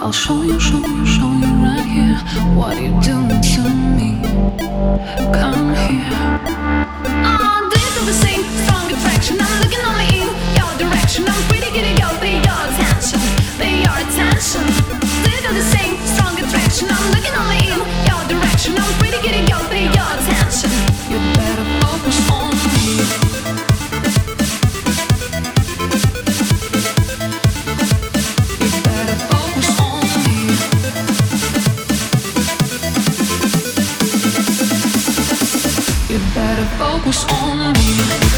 I'll show you right here what you're doing to me. Come here. Oh, do you feel the same strong attraction? I'm looking only in your direction. I'm pretty good at go, pay your attention, pay your attention. Do you feel the same strong attraction? I'm looking only in your direction. I'm pretty good at go, pay your attention. You better focus on me. Focus on me.